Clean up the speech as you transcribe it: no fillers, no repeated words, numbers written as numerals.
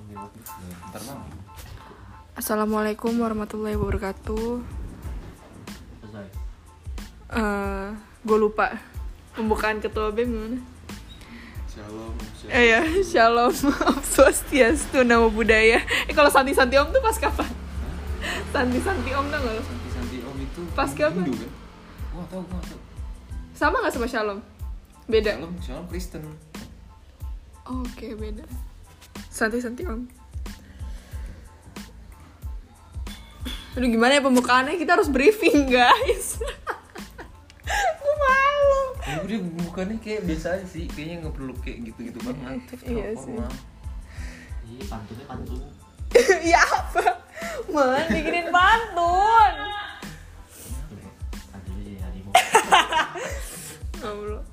Bentar bang. Assalamualaikum warahmatullahi wabarakatuh. Gue lupa pembukaan ketua BEM gimana? Shalom. Ya, Shalom, Om Swastiastu, Namo Buddhaya. Kalau Santi Om tuh pas kapan? Santi Om tau gak lo? Santi Om itu pas kapan? Hindu kan? Wah tau. Sama gak sama Shalom? Beda? Shalom Kristen. Oke, beda. Santi Om. Aduh, gimana ya pembukaannya? Kita harus briefing, guys. Gue malu. Ya udah bukannya kayak biasa aja sih. Kayaknya gak perlu kayak gitu-gitu banget. Iya sih. Iya, pantun. Ya apa? Man, bikinin pantun. Pantun aja harimau. Allah.